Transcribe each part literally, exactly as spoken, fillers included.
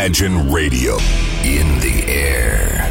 Imagine Radio in the air.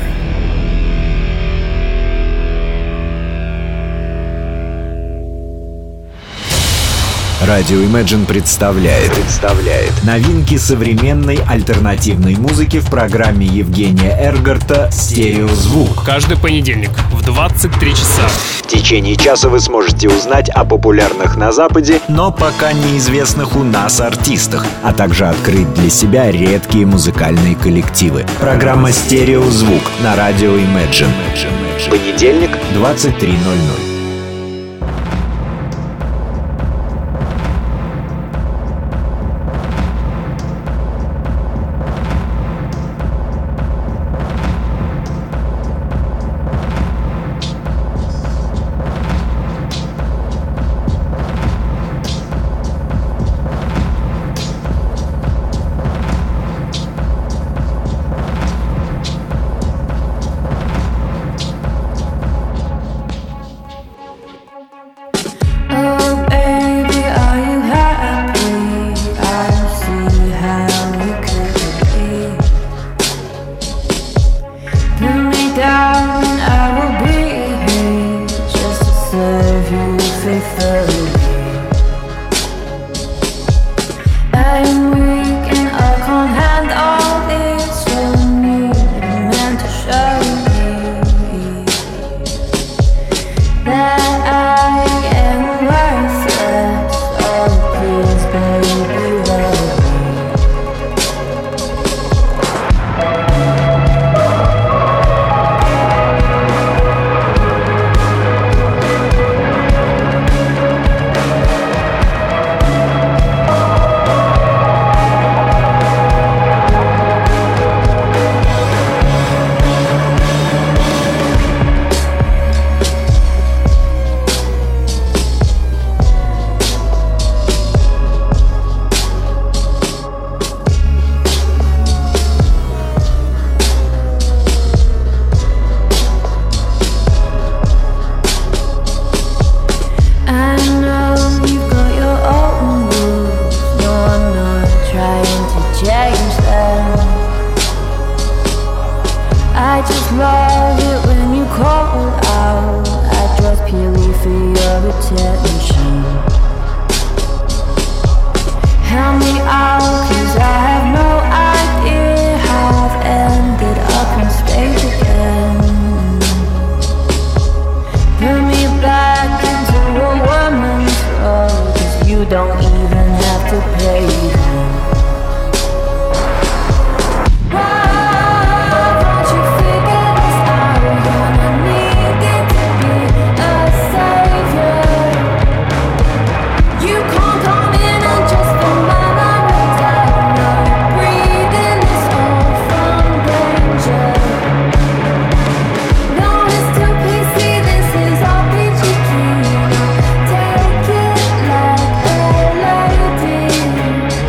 Радио Imagine представляет, представляет новинки современной альтернативной музыки в программе Евгения Эргарта «Стереозвук». Каждый понедельник в двадцать три часа. В течение часа вы сможете узнать о популярных на Западе, но пока неизвестных у нас артистах, а также открыть для себя редкие музыкальные коллективы. Программа «Стереозвук» на радио Imagine. Понедельник, двадцать три ноль ноль. Take it like a lady.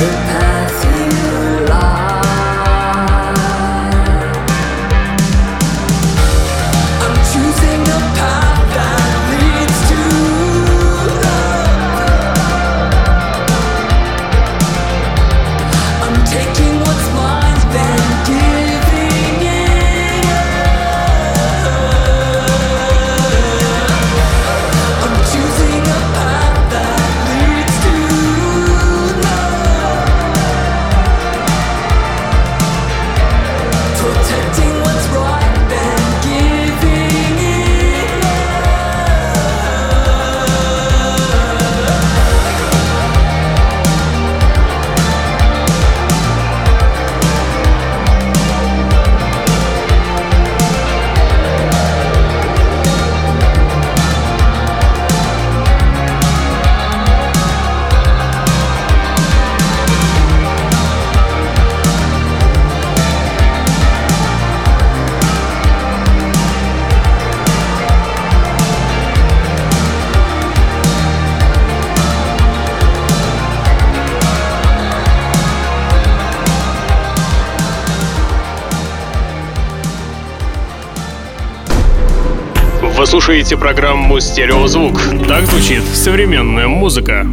Вы слушаете программу «Стереозвук». Так звучит современная музыка.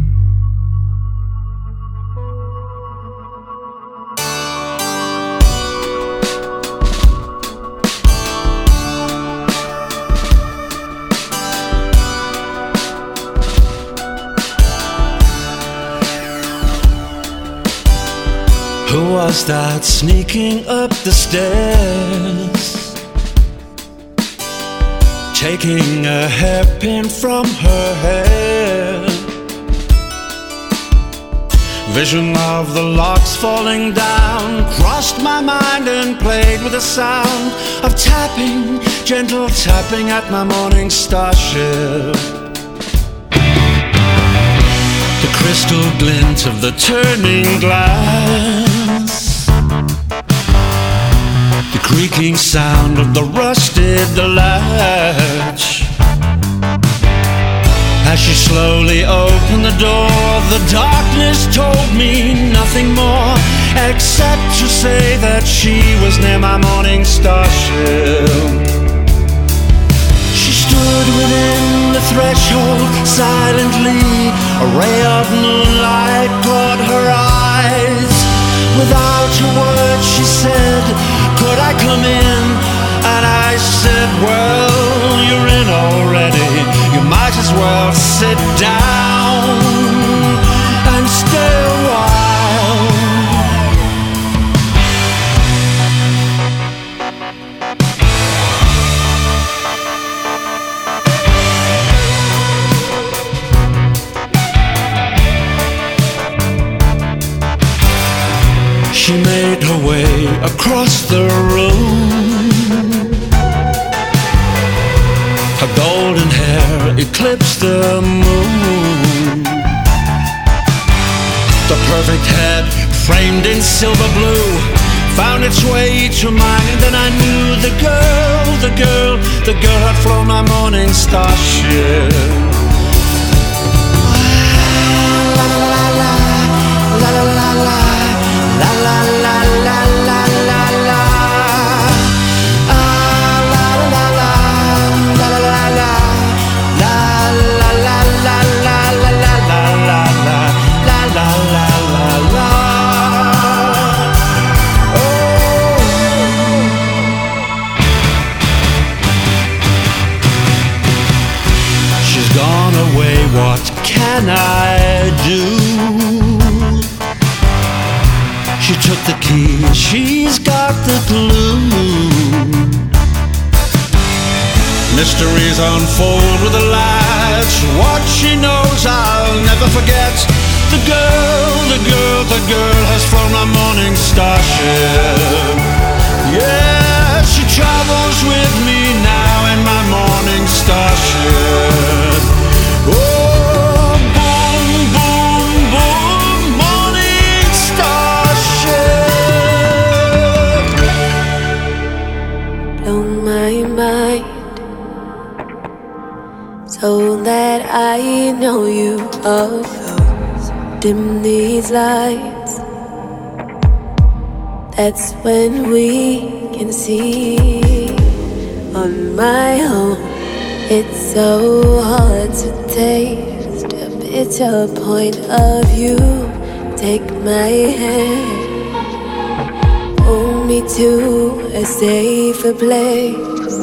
Who was that sneaking up the stairs? Taking a hairpin from her hair. Vision of the locks falling down crossed my mind and played with the sound of tapping, gentle tapping at my morning starship. The crystal glint of the turning glass, the creaking sound of the rusted latch. As she slowly opened the door, the darkness told me nothing more, except to say that she was near my morning starship. She stood within the threshold silently, a ray of moonlight caught her eyes. Without a word she said, could I come in? And I said, well, you're in already. You might as well sit down and stay a while. She made her way across the room. Her golden hair eclipsed the moon. The perfect head, framed in silver blue, found its way to mine, and then I knew the girl, the girl, the girl had flown my morning starship. La la la la, la la la la, la la la la la la la. What can I do? She took the key, she's got the glue. Mysteries unfold with a latch. What she knows I'll never forget. The girl, the girl, the girl has flown my morning starship. Yeah, she travels with me now in my morning starship. Oh, boom, boom, boom, morning starship. Blow my mind so that I know you are close. dim these lights, that's when we can see. On my own, it's so hard to taste a bitter point of view. Take my hand, hold me to a safer place.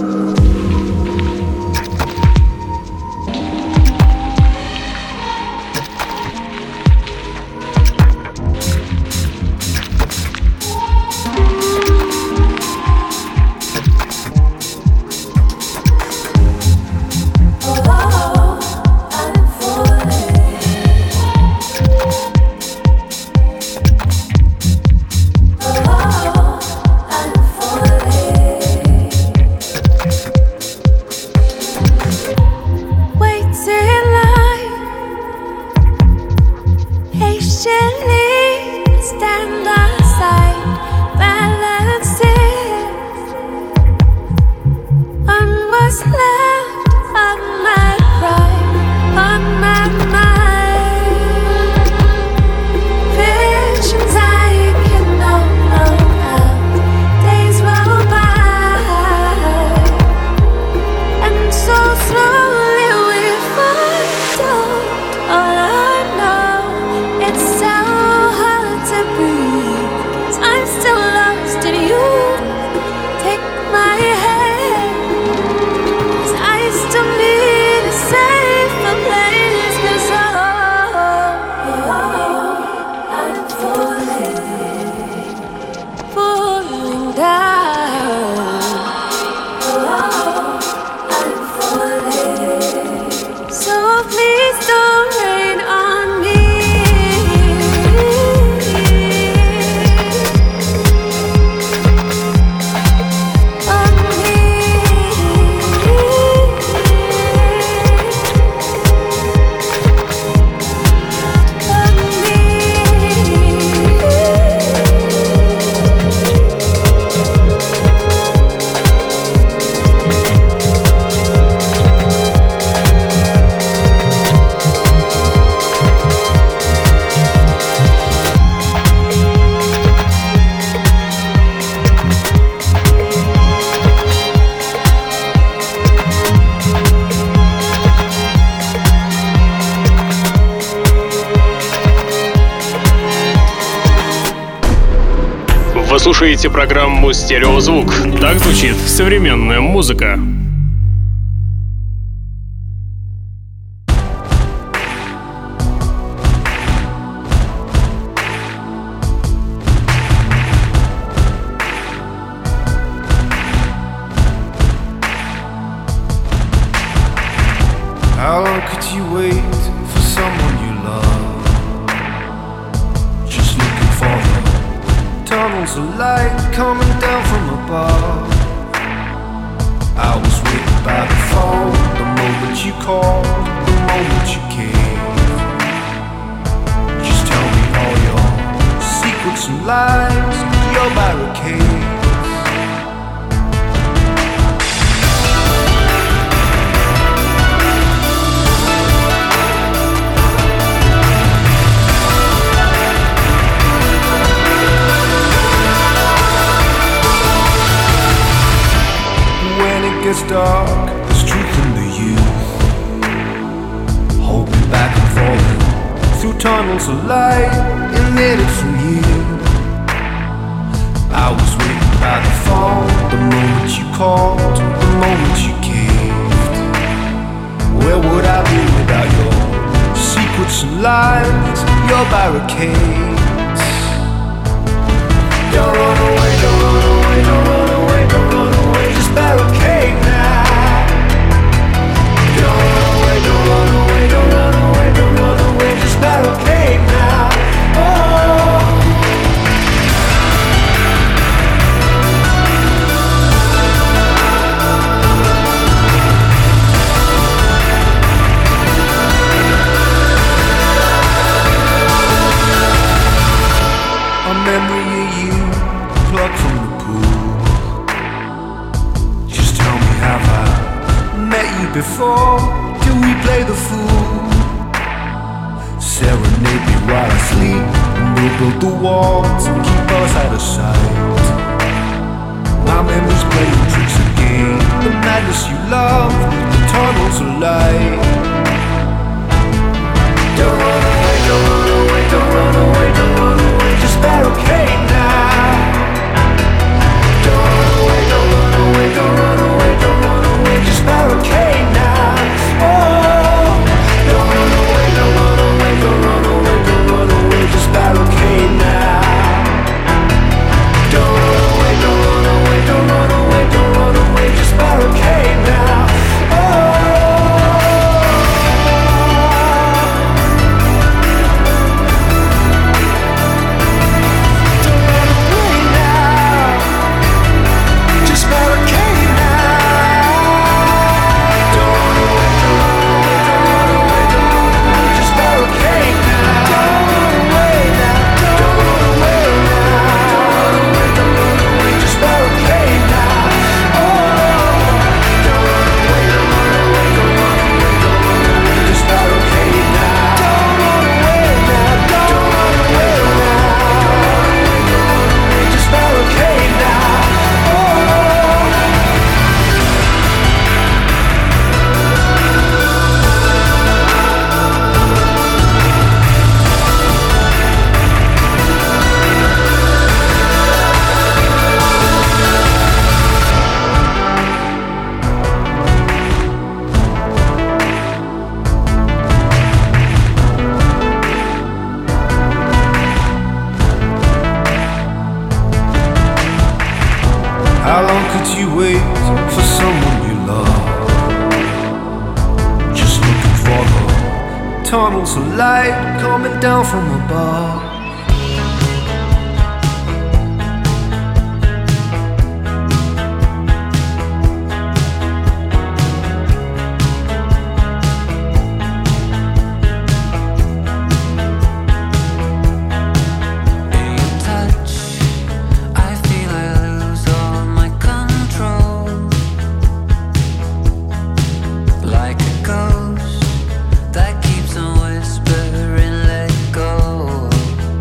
Вы слушаете программу «Стереозвук». Так звучит современная музыка. How long could you wait for someone you love? Just looking for the tunnels of light coming down from above. I was waiting by the phone, the moment you called, the moment you came. Just tell me all your secrets and lies, your barricades. It's dark, there's truth in the youth. Hold me back and falling through tunnels of light emitted from you. I was waiting by the phone, the moment you called, the moment you caved. Where would I be without your secrets and lies, your barricades? Don't run away, don't run away, don't run away, don't run away, just barricade now. Don't run away, don't run away, don't run away, don't run away, just barricade now. Oh. A memory of you plucked from the pool. Just tell me, have I met you before? Do we play the fool? serenade me while I sleep, and we'll build the walls and keep us out of sight. My memories playing tricks again. The madness you love, the tunnels of light. Don't run away, don't run away, don't run away, don't run away. Just barricade now. Don't run away, don't run away, don't run away, don't run away. Just barricade now. Oh, don't run away, don't run away, don't run away, don't run away. Just barricade now. Don't run away, don't run away, don't run away, don't run away. Just barricade now. Oh. How long could you wait for someone you love? Just looking for the tunnels of light coming down from above. That keeps on whispering, let go.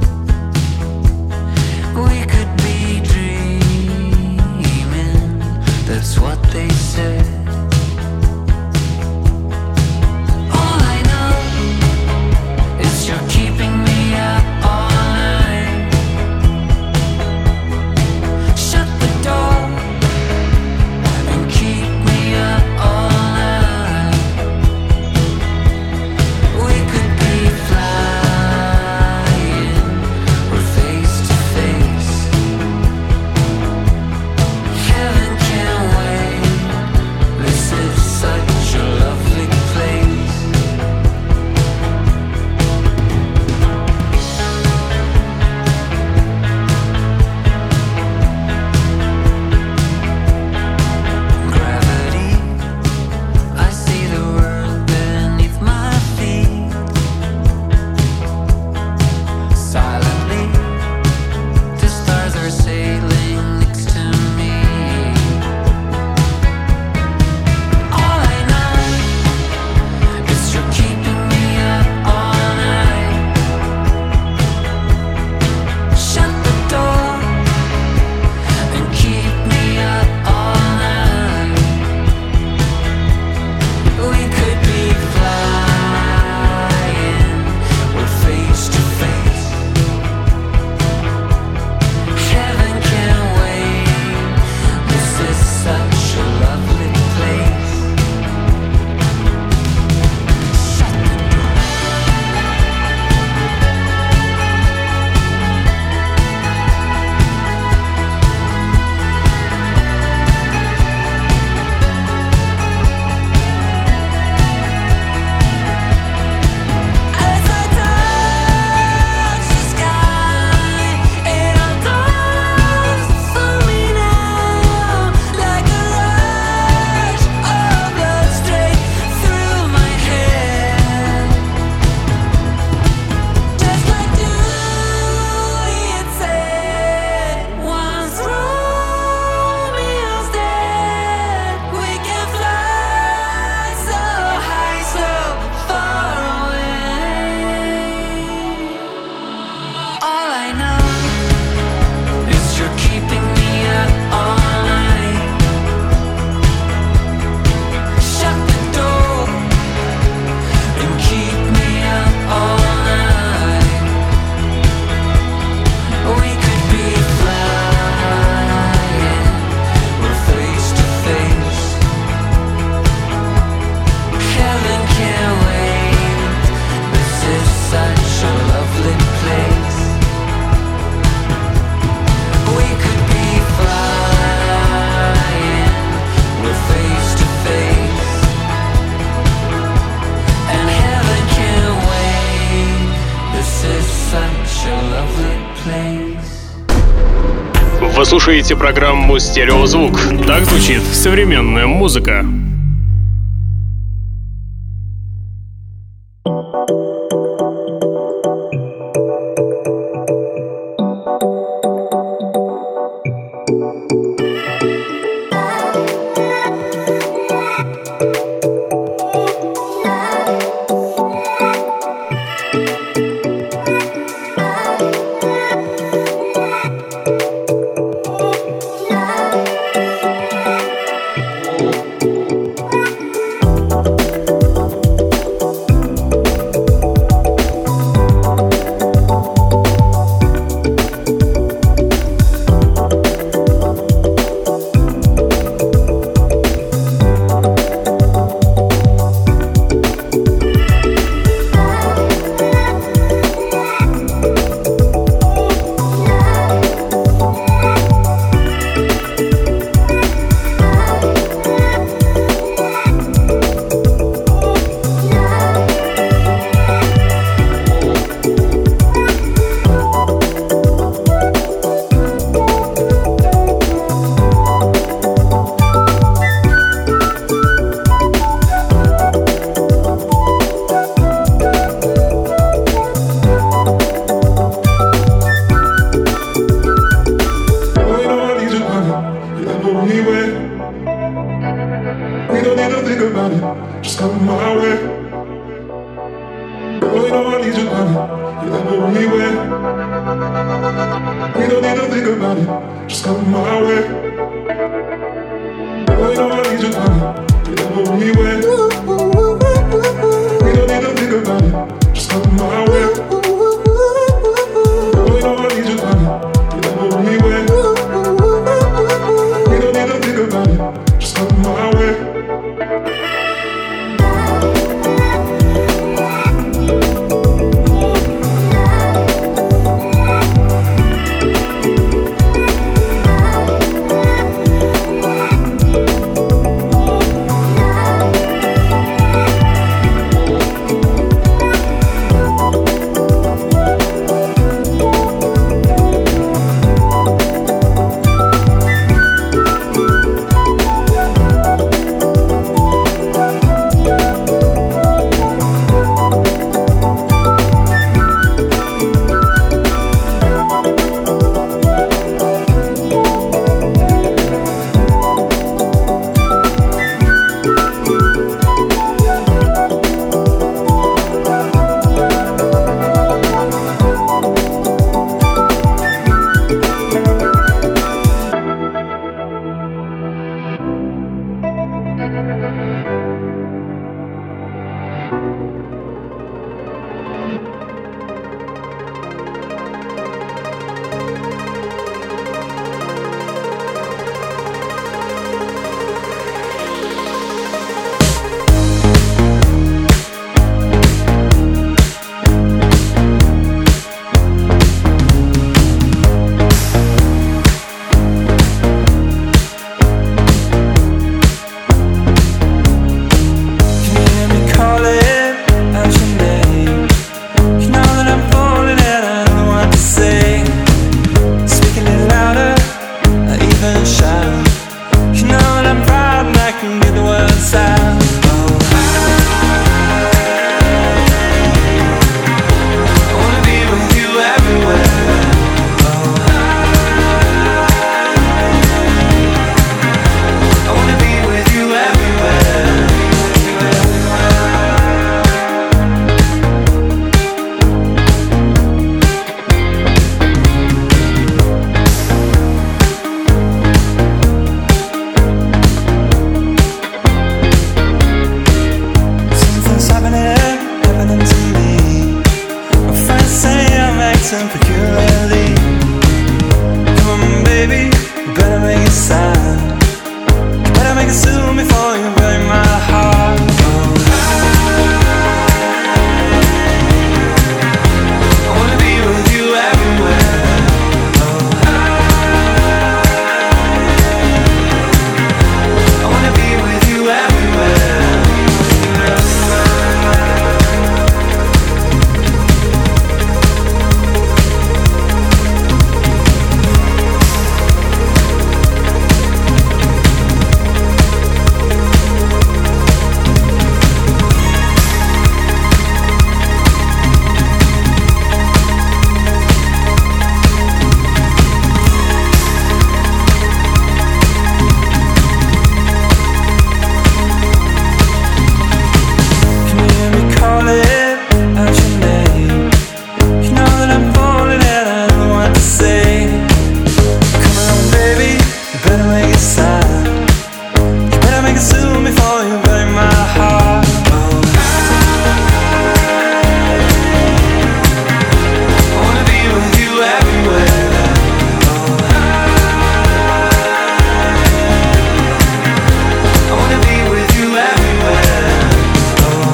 Вы слушаете программу «Стереозвук». Так звучит современная музыка. day. Come on, baby, you better make it sound. You better make it soon before you break my heart. Oh. I wanna be with you everywhere. Oh. I wanna be with you everywhere. Oh.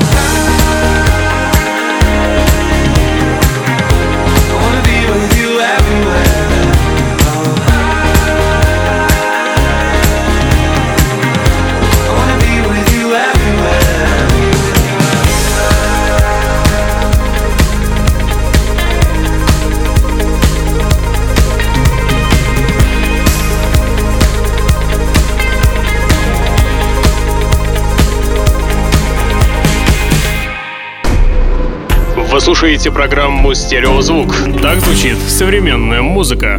I wanna be with you everywhere. Oh. I wanna be with you everywhere. Вы слушаете программу «Стереозвук». Так звучит современная музыка.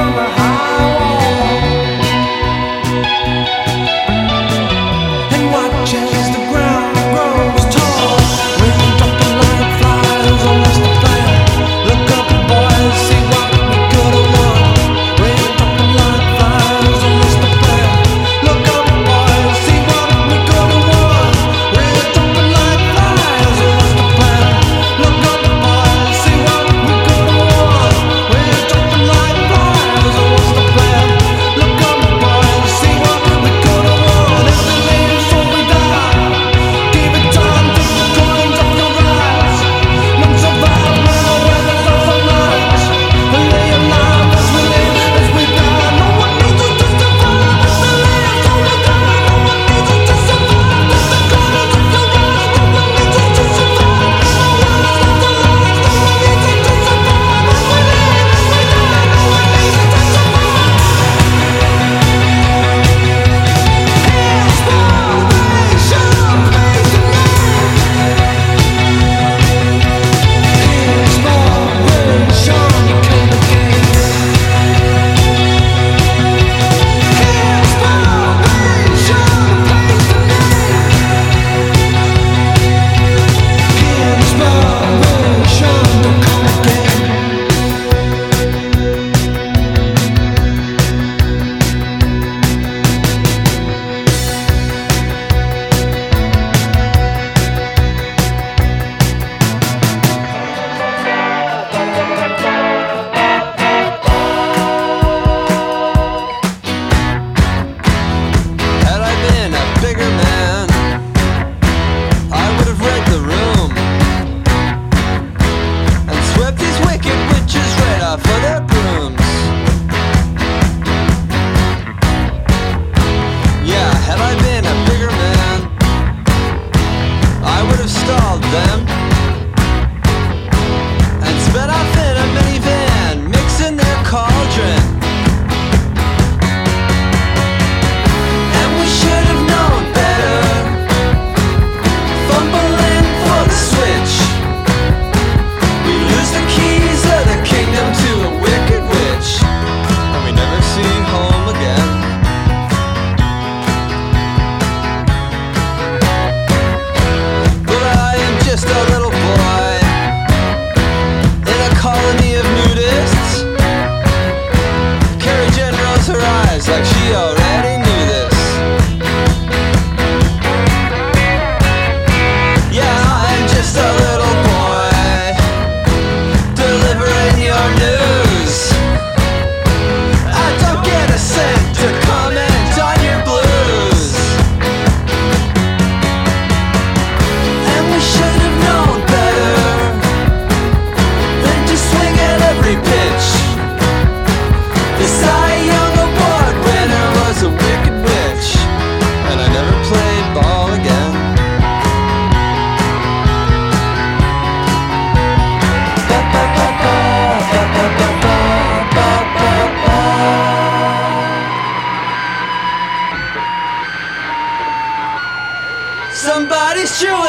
Somebody's chewing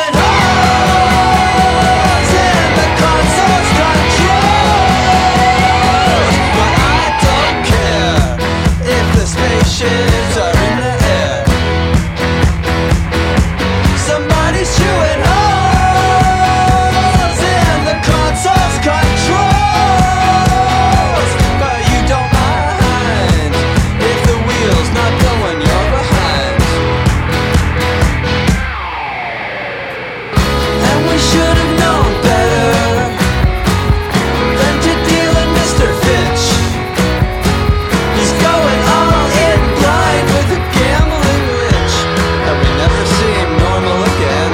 holes in the console's controls, but I don't care if the spaceships are in the air. Somebody's chewing holes in the console's controls, but you don't mind if the wheel's not going, you're behind. And we should have known better than to deal in Mister Finch. He's going all in blind with a gambling witch, and we never see him normal again.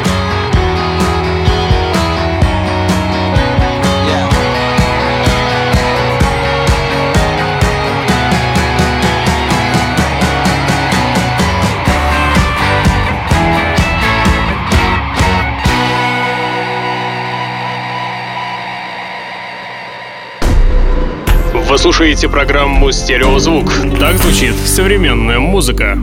Yeah. Вы слушаете программу «Стереозвук». Так звучит современная музыка.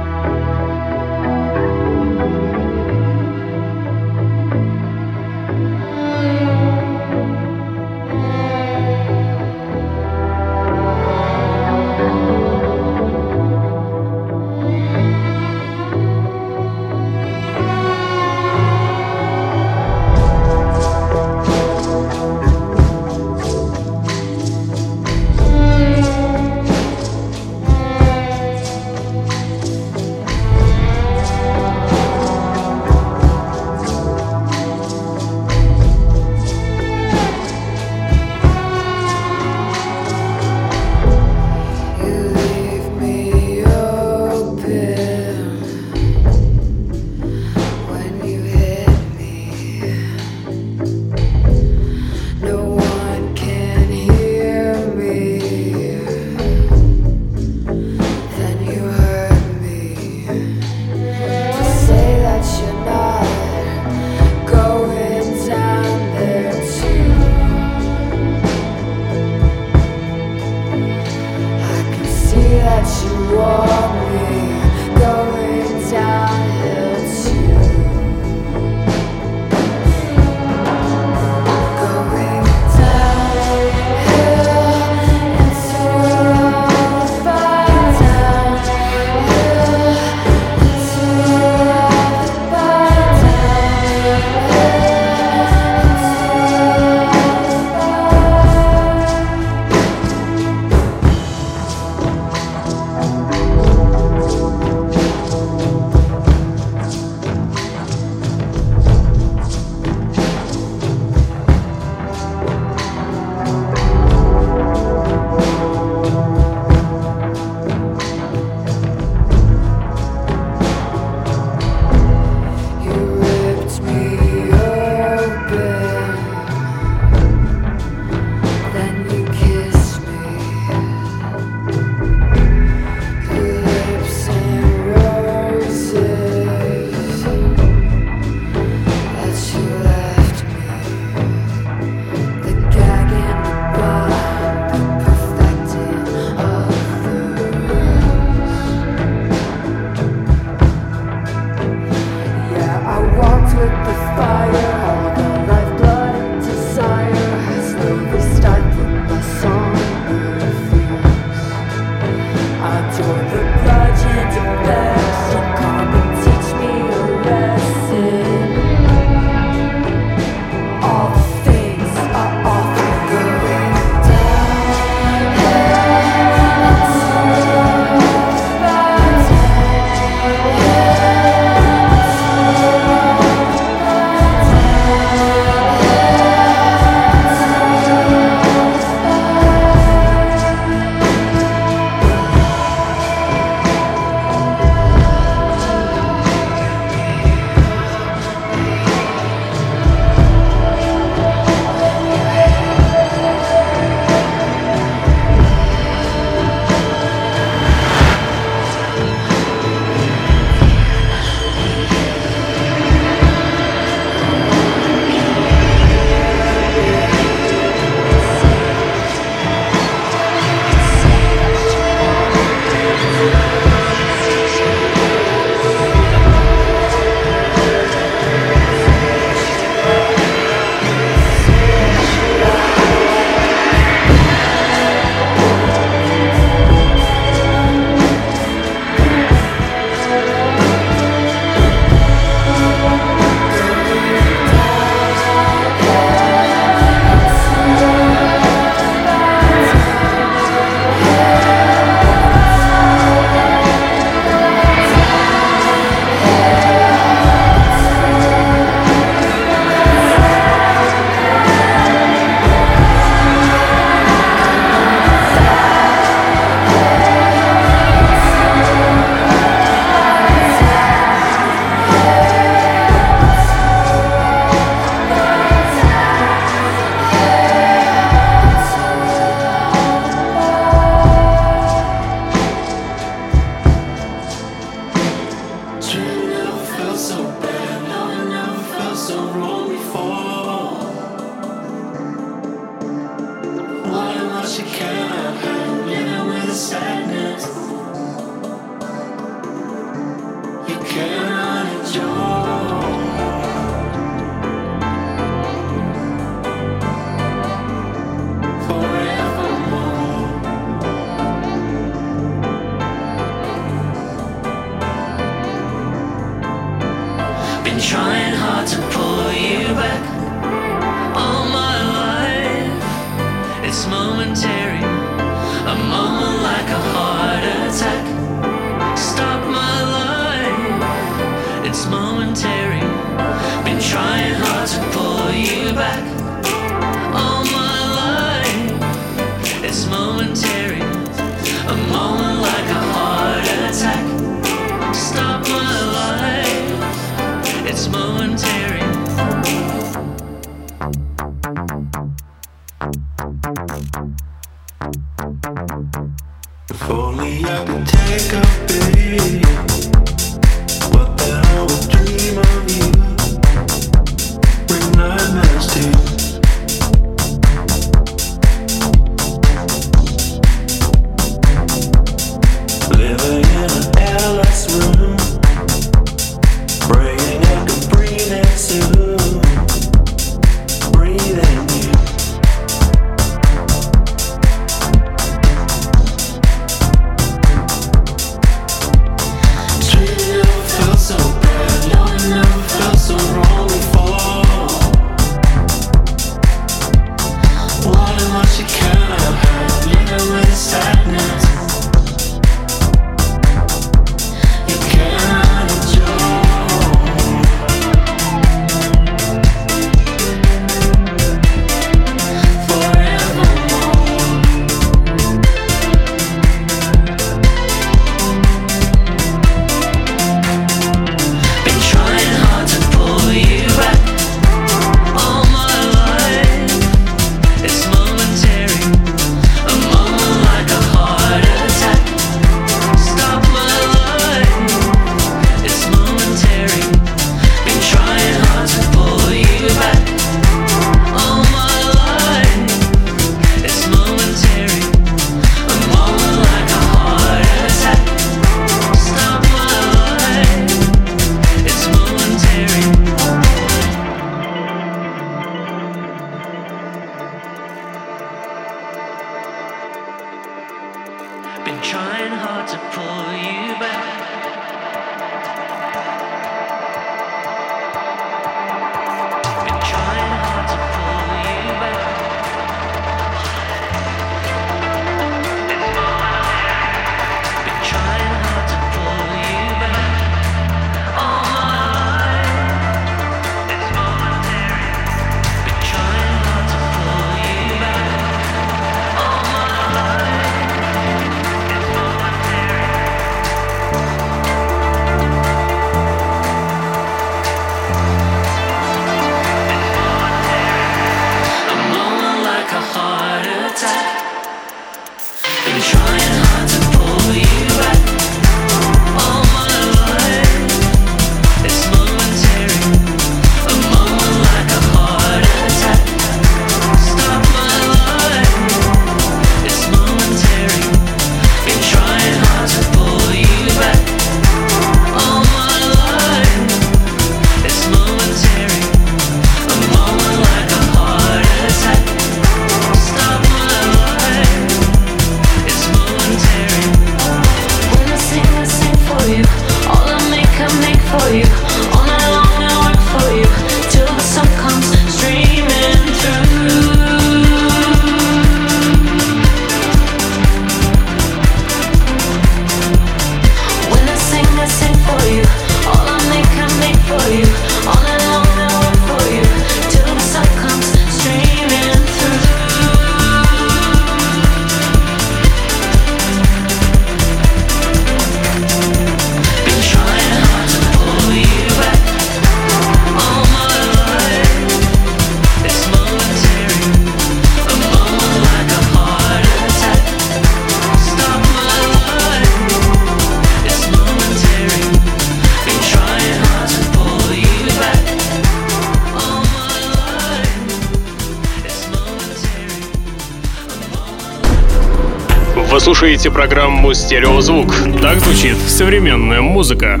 Вы слушаете программу «Стереозвук». Так звучит современная музыка.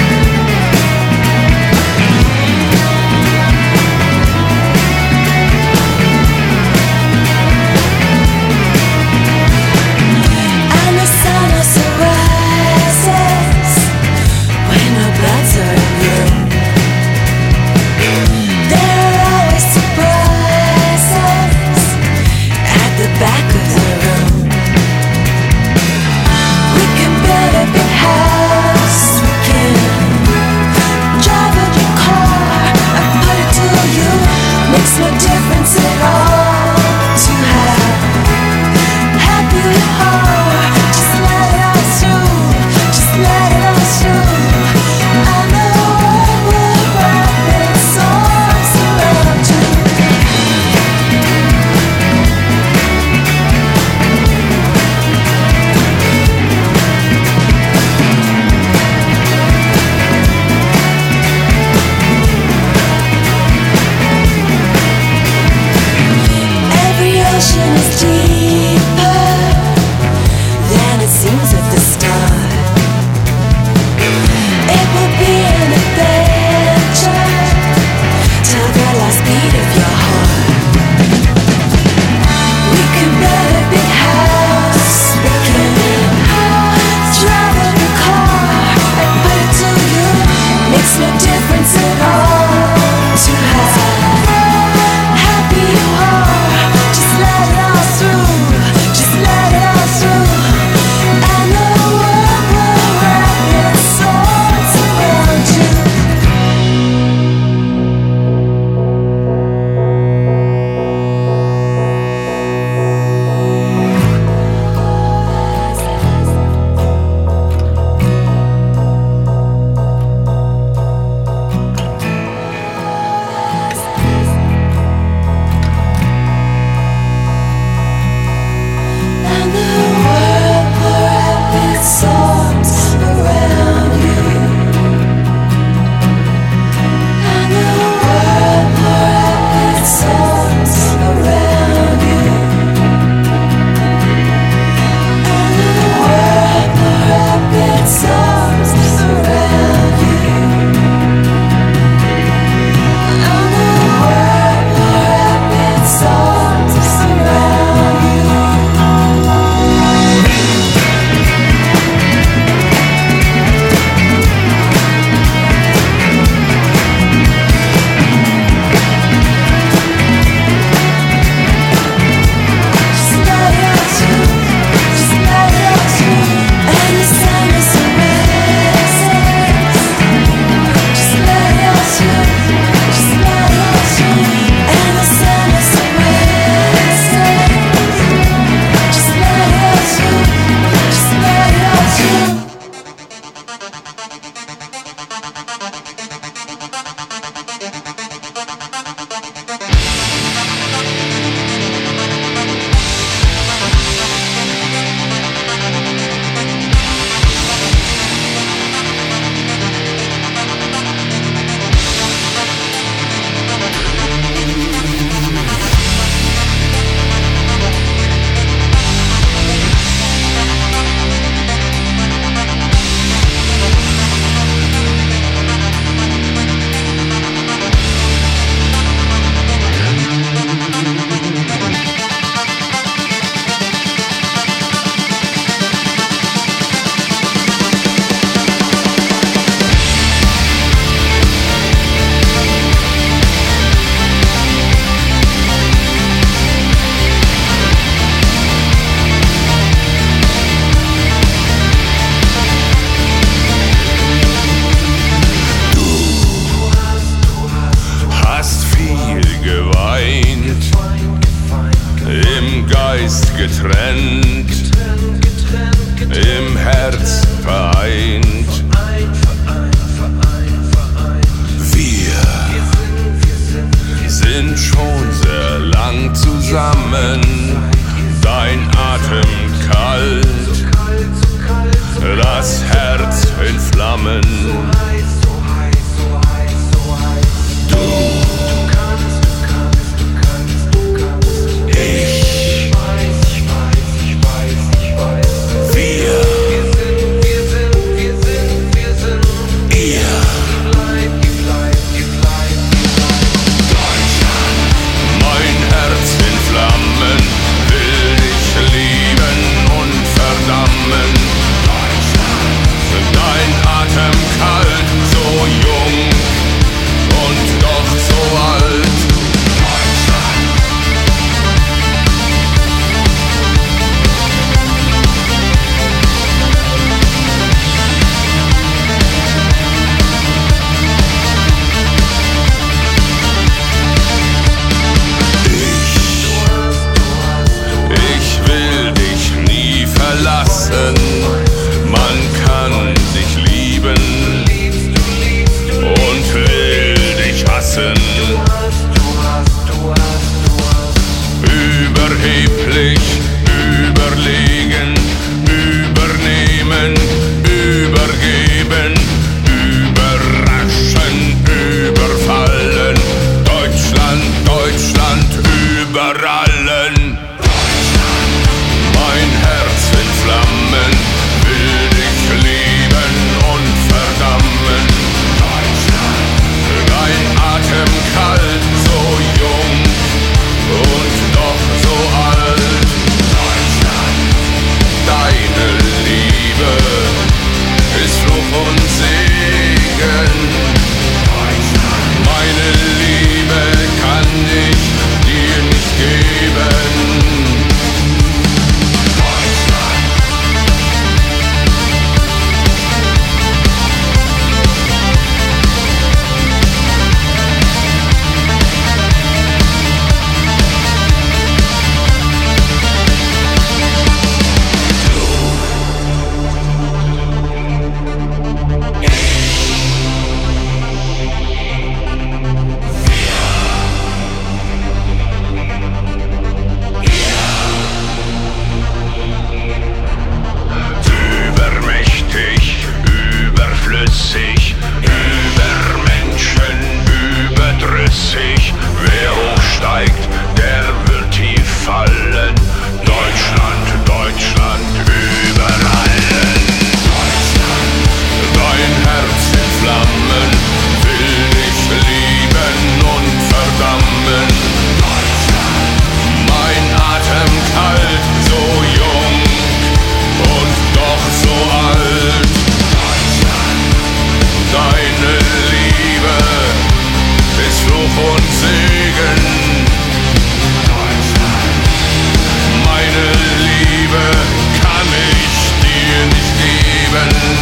Thank zusammen, dein Atem kalt, das Herz in Flammen. Du, ich, wir, ihr. Mein Herz in Flammen, will dich lieben und verdammen. Dein Atem kalt, so jung und doch so alt. Ich, ich will dich nie verlassen. Man kann dich lieben und will dich hassen. Überheblich, überlegen, übernehmen, übergeben, überraschen, überfallen. Deutschland, Deutschland über allen. Mein Herz in Flammen, will dich lieben und verdammen. Dein Atem kalt, so jung und doch so alt. Deine Liebe ist Fluch und Segen. Meine Liebe kann ich dir nicht geben. Wer hochsteigt, der wird tief fallen. Deutschland, Deutschland über allen. Dein Herz in Flammen, will dich lieben und verdammen. Mein Atem kalt, so jung und doch so alt. Deine Liebe ist Fluch und Segen. Meine Liebe kann ich dir nicht geben.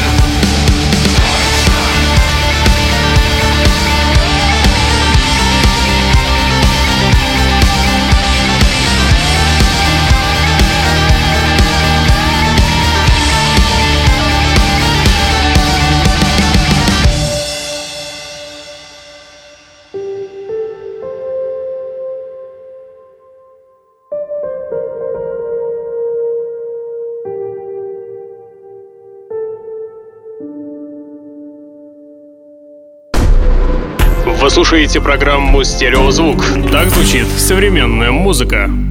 Вы слушаете программу «Стереозвук». Так звучит современная музыка.